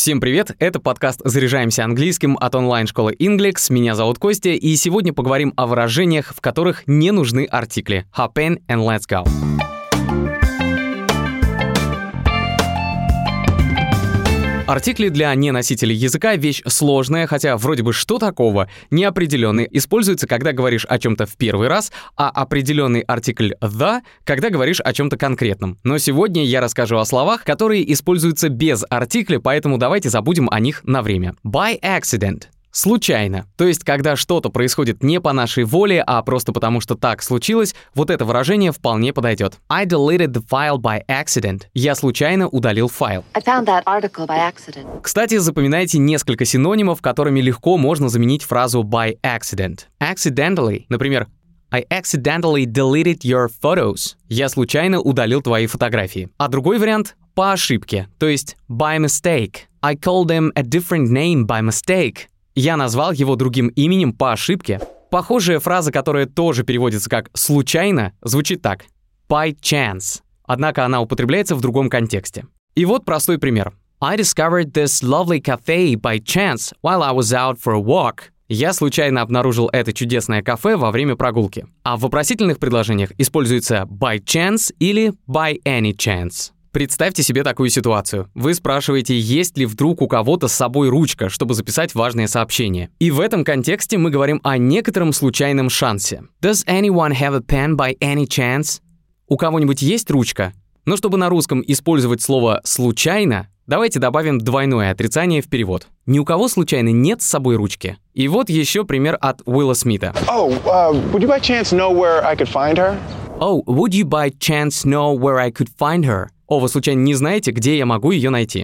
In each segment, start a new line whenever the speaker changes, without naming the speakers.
Всем привет, это подкаст «Заряжаемся английским» от онлайн-школы Inglix. Меня зовут Костя, и сегодня поговорим о выражениях, в которых не нужны артикли. Hop in and let's go. Артикли для неносителей языка — вещь сложная, хотя вроде бы что такого? Неопределенный используется, когда говоришь о чем-то в первый раз, а определенный артикль «the», когда говоришь о чем-то конкретном. Но сегодня я расскажу о словах, которые используются без артикля, поэтому давайте забудем о них на время. By accident. Случайно. То есть, когда что-то происходит не по нашей воле, а просто потому, что так случилось, вот это выражение вполне подойдет. I deleted the file by accident. Я случайно удалил файл.
I found that article by accident.
Кстати, запоминайте несколько синонимов, которыми легко можно заменить фразу by accident. Accidentally, например, I accidentally deleted your photos. Я случайно удалил твои фотографии. А другой вариант — по ошибке, то есть by mistake. I called him a different name by mistake. Я назвал его другим именем по ошибке. Похожая фраза, которая тоже переводится как «случайно», звучит так by chance. Однако она употребляется в другом контексте. И вот простой пример. I discovered this lovely cafe by chance while I was out for a walk. Я случайно обнаружил это чудесное кафе во время прогулки. А в вопросительных предложениях используется by chance или by any chance. Представьте себе такую ситуацию. Вы спрашиваете, есть ли вдруг у кого-то с собой ручка, чтобы записать важное сообщение. И в этом контексте мы говорим о некотором случайном шансе. Does anyone have a pen by any chance? У кого-нибудь есть ручка? Но чтобы на русском использовать слово «случайно», давайте добавим двойное отрицание в перевод. Ни у кого случайно нет с собой ручки. И вот еще пример от Уилла Смита.
Would you by chance know where I could find her?
Oh, would you by chance know where I could find her? О, вы случайно не знаете, где я могу ее найти?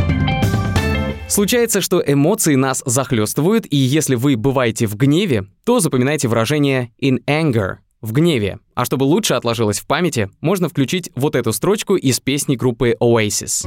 Случается, что эмоции нас захлестывают, и если вы бываете в гневе, то запоминайте выражение in anger – в гневе. А чтобы лучше отложилось в памяти, можно включить вот эту строчку из песни группы Oasis.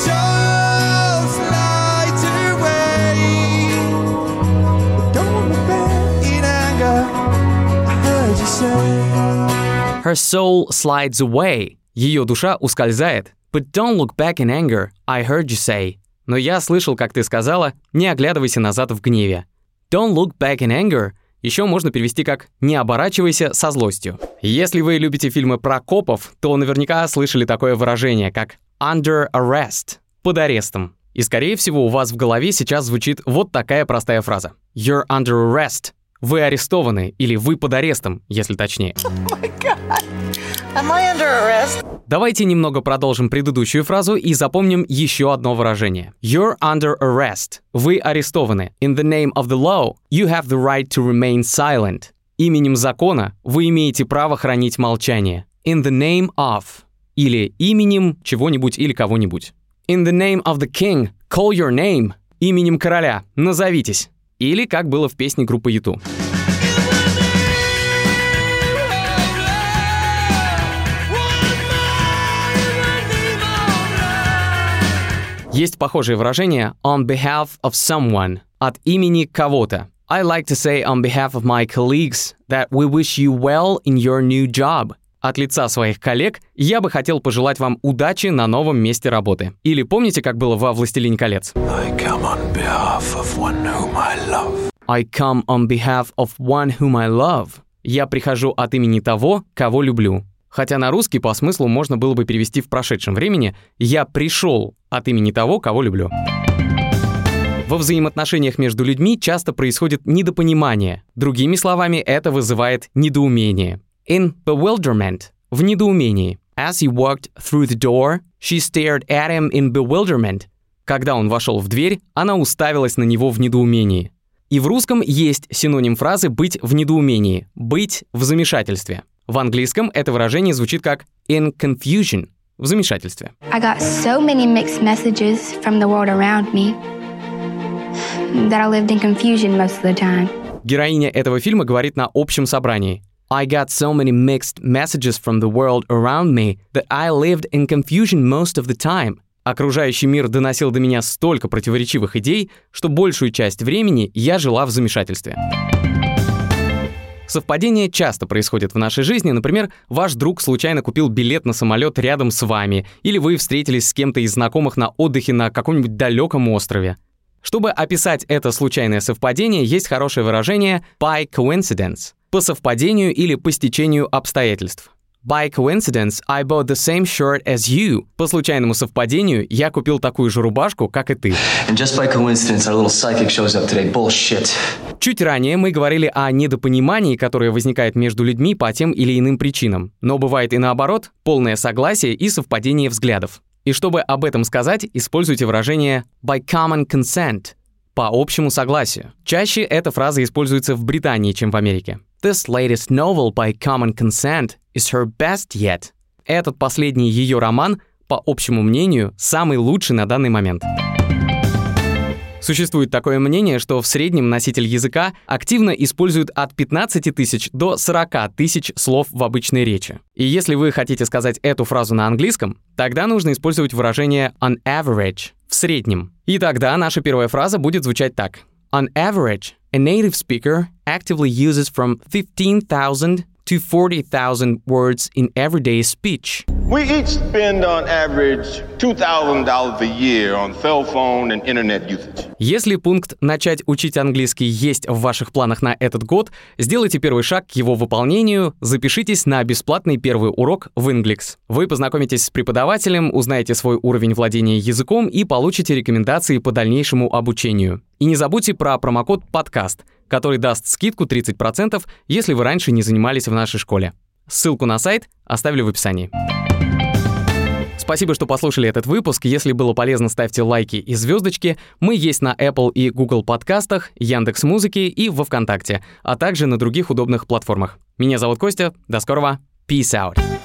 Her soul slides away. Ее душа ускользает. But don't look back in anger, I heard you say. Но я слышал, как ты сказала, не оглядывайся назад в гневе. Don't look back in anger еще можно перевести как «не оборачивайся со злостью». Если вы любите фильмы про копов, то наверняка слышали такое выражение, как under arrest, под арестом. И, скорее всего, у вас в голове сейчас звучит вот такая простая фраза. You're under arrest. Вы арестованы, или вы под арестом, если точнее.
Oh my God. Am I under arrest?
Давайте немного продолжим предыдущую фразу и запомним еще одно выражение. You're under arrest. Вы арестованы. In the name of the law, you have the right to remain silent. Именем закона вы имеете право хранить молчание. In the name of. Или именем чего-нибудь или кого-нибудь. In the name of the king, call your name. Именем короля, назовитесь. Или как было в песне группы U2. Есть похожее выражение on behalf of someone, от имени кого-то. I like to say on behalf of my colleagues that we wish you well in your new job. От лица своих коллег я бы хотел пожелать вам удачи на новом месте работы. Или помните, как было во «Властелине колец»?
I come on behalf of one whom I love.
I come on behalf of one whom I love. Я прихожу от имени того, кого люблю. Хотя на русский по смыслу можно было бы перевести в прошедшем времени «я пришел от имени того, кого люблю». Во взаимоотношениях между людьми часто происходит недопонимание. Другими словами, это вызывает недоумение. In bewilderment – в недоумении. As he walked through the door, she stared at him in bewilderment. Когда он вошел в дверь, она уставилась на него в недоумении. И в русском есть синоним фразы «быть в недоумении», «быть в замешательстве». В английском это выражение звучит как in confusion, в замешательстве.
I got so many mixed messages from the world around me that I lived in confusion most of the time.
Героиня этого фильма говорит на общем собрании. I got so many mixed messages from the world around me that I lived in confusion most of the time. Окружающий мир доносил до меня столько противоречивых идей, что большую часть времени я жила в замешательстве. Совпадения часто происходят в нашей жизни. Например, ваш друг случайно купил билет на самолет рядом с вами, или вы встретились с кем-то из знакомых на отдыхе на каком-нибудь далеком острове. Чтобы описать это случайное совпадение, есть хорошее выражение by coincidence – по совпадению или по стечению обстоятельств. By coincidence, I bought the same shirt as you. По случайному совпадению, я купил такую же рубашку, как и ты.
And just by coincidence, our little psychic shows up today. Bullshit.
Чуть ранее мы говорили о недопонимании, которое возникает между людьми по тем или иным причинам. Но бывает и наоборот, полное согласие и совпадение взглядов. И чтобы об этом сказать, используйте выражение by common consent – по общему согласию. Чаще эта фраза используется в Британии, чем в Америке. This latest novel by common consent is her best yet. Этот последний ее роман, по общему мнению, самый лучший на данный момент. Существует такое мнение, что в среднем носитель языка активно использует от 15 тысяч до 40 тысяч слов в обычной речи. И если вы хотите сказать эту фразу на английском, тогда нужно использовать выражение on average – в среднем. И тогда наша первая фраза будет звучать так. On average, a native speaker actively uses from 15,000 to 40,000 words in everyday speech.
We each spend on average $2,000 a year on cell phone and internet usage.
Если пункт «начать учить английский» есть в ваших планах на этот год, сделайте первый шаг к его выполнению, запишитесь на бесплатный первый урок в Inglix. Вы познакомитесь с преподавателем, узнаете свой уровень владения языком и получите рекомендации по дальнейшему обучению. И не забудьте про промокод «Подкаст», который даст скидку 30%, если вы раньше не занимались в нашей школе. Ссылку на сайт оставлю в описании. Спасибо, что послушали этот выпуск. Если было полезно, ставьте лайки и звездочки. Мы есть на Apple и Google подкастах, Яндекс.Музыке и во Вконтакте, а также на других удобных платформах. Меня зовут Костя. До скорого. Peace out.